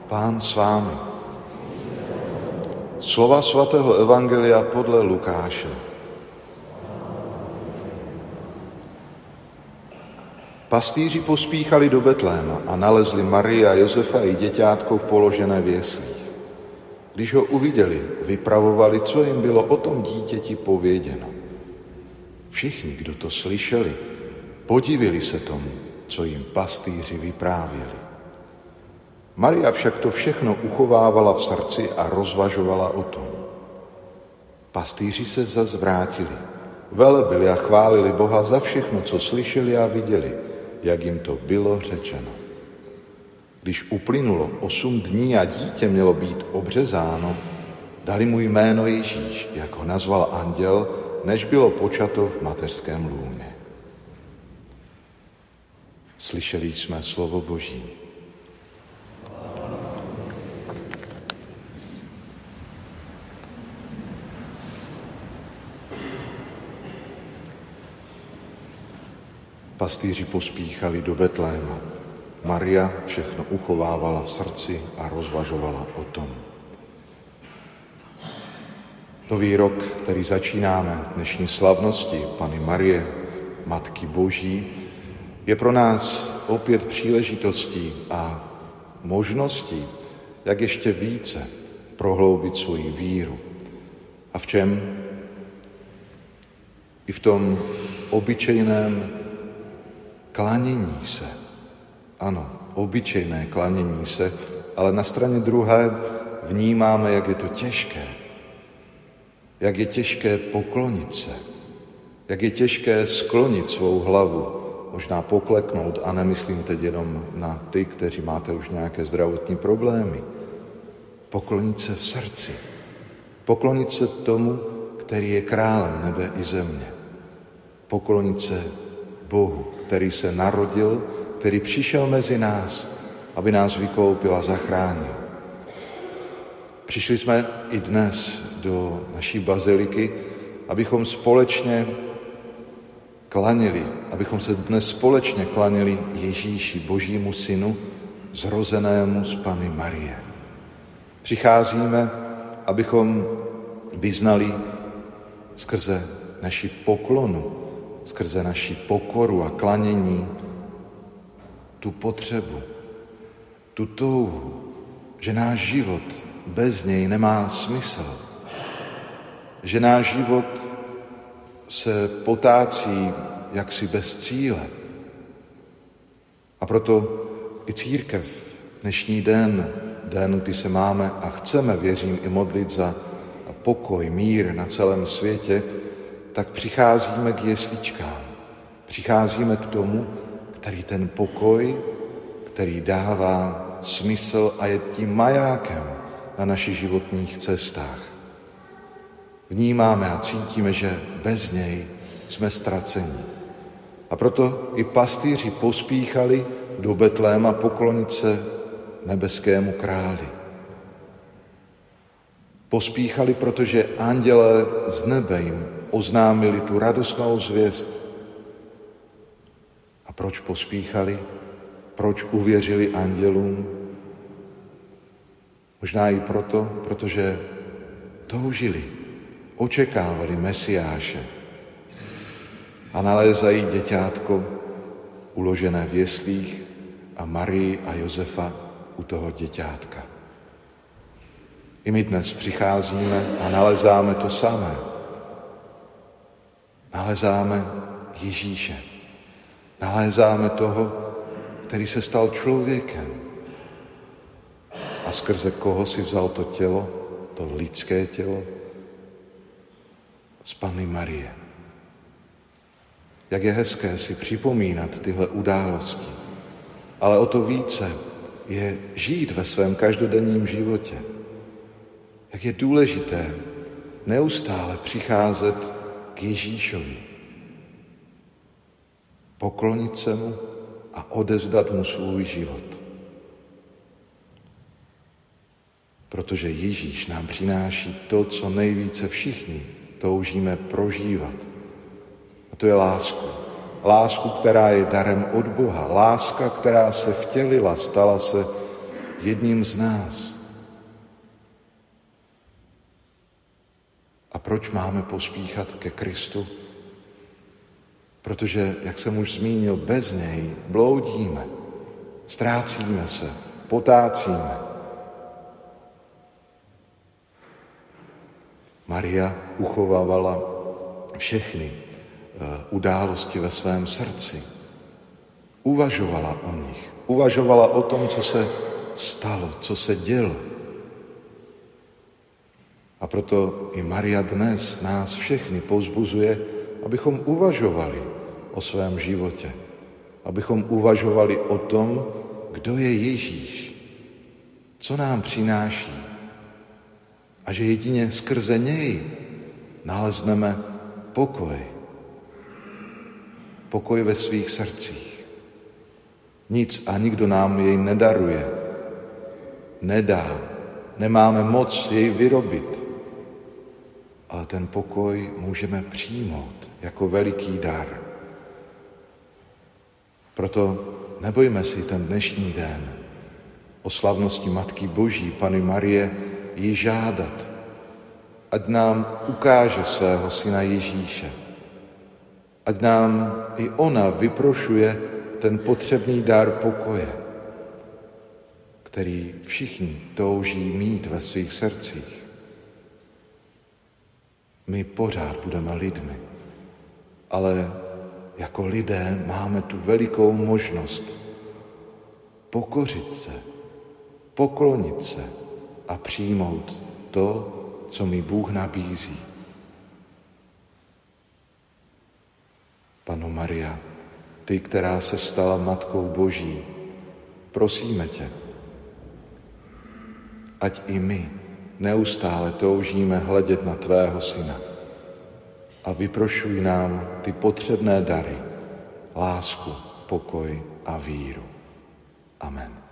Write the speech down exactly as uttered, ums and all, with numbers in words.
Pán s vámi. Slova svatého evangelia podle Lukáše. Pastýři pospíchali do Betléma a nalezli Marii a Josefa i děťátko položené v jeslích. Když ho uviděli, vypravovali, co jim bylo o tom dítěti pověděno. Všichni, kdo to slyšeli, podivili se tomu, co jim pastýři vyprávěli. Maria však to všechno uchovávala v srdci a rozvažovala o tom. Pastýři se zas vrátili, velebili a chválili Boha za všechno, co slyšeli a viděli, jak jim to bylo řečeno. Když uplynulo osm dní a dítě mělo být obřezáno, dali mu jméno Ježíš, jak ho nazval anděl, než bylo počato v mateřském lůně. Slyšeli jsme slovo Boží. Pastýři pospíchali do Betléma. Maria všechno uchovávala v srdci a rozvažovala o tom. Nový rok, který začínáme dnešní slavnosti Panny Marie, Matky Boží, je pro nás opět příležitostí a možností, jak ještě více prohloubit svoji víru. A v čem? I v tom obyčejném klanění se. Ano, obyčejné klanění se, ale na straně druhé vnímáme, jak je to těžké. Jak je těžké poklonit se. Jak je těžké sklonit svou hlavu, možná pokleknout, a nemyslím teď jenom na ty, kteří máte už nějaké zdravotní problémy. Poklonit se v srdci. Poklonit se tomu, který je králem nebe i země. Poklonit se Bohu, který se narodil, který přišel mezi nás, aby nás vykoupil a zachránil. Přišli jsme i dnes do naší baziliky, abychom společně klanili, abychom se dnes společně klanili Ježíši, Božímu synu, zrozenému z Panny Marie. Přicházíme, abychom vyznali skrze naši poklonu, skrze naši pokoru a klanění tu potřebu, tu touhu, že náš život bez něj nemá smysl, že náš život se potácí jaksi bez cíle. A proto i církev dnešní den, den, kdy se máme a chceme, věřím, i modlit za pokoj, mír na celém světě, tak přicházíme k jesličkám. Přicházíme k tomu, který ten pokoj, který dává smysl a je tím majákem na našich životních cestách. Vnímáme a cítíme, že bez něj jsme ztraceni. A proto i pastýři pospíchali do Betléma poklonit se nebeskému králi. Pospíchali, protože andělé z nebe jim oznámili tu radostnou zvěst. A proč pospíchali? Proč uvěřili andělům? Možná i proto, protože toužili, očekávali Mesiáše a nalézají děťátko uložené v jeslích a Marii a Josefa u toho děťátka. I my dnes přicházíme a nalezáme to samé. Nalezáme Ježíše. Nalézáme toho, který se stal člověkem a skrze koho si vzal to tělo, to lidské tělo, z Panny Marie. Jak je hezké si připomínat tyhle události, ale o to více je žít ve svém každodenním životě. Jak je důležité neustále přicházet k Ježíšovi, poklonit se mu a odevzdat mu svůj život. Protože Ježíš nám přináší to, co nejvíce všichni toužíme prožívat. A to je lásku. Lásku, která je darem od Boha. Láska, která se vtělila, stala se jedním z nás. A proč máme pospíchat ke Kristu? Protože, jak jsem už zmínil, bez něj bloudíme, ztrácíme se, potácíme. Maria uchovávala všechny události ve svém srdci. Uvažovala o nich. Uvažovala o tom, co se stalo, co se dělo. A proto i Maria dnes nás všechny povzbuzuje, abychom uvažovali o svém životě. Abychom uvažovali o tom, kdo je Ježíš, co nám přináší. A že jedině skrze něj nalezneme pokoj. Pokoj ve svých srdcích. Nic a nikdo nám jej nedaruje, nedá, nemáme moc jej vyrobit, ale ten pokoj můžeme přijmout jako veliký dar. Proto nebojme si ten dnešní den o slavnosti Matky Boží, Panny Marie, ji žádat, ať nám ukáže svého syna Ježíše, ať nám i ona vyprošuje ten potřebný dar pokoje, který všichni touží mít ve svých srdcích. My pořád budeme lidmi, ale jako lidé máme tu velikou možnost pokořit se, poklonit se a přijmout to, co mi Bůh nabízí. Panno Maria, ty, která se stala Matkou Boží, prosíme tě, ať i my neustále toužíme hledět na tvého syna a vyprošuj nám ty potřebné dary, lásku, pokoj a víru. Amen.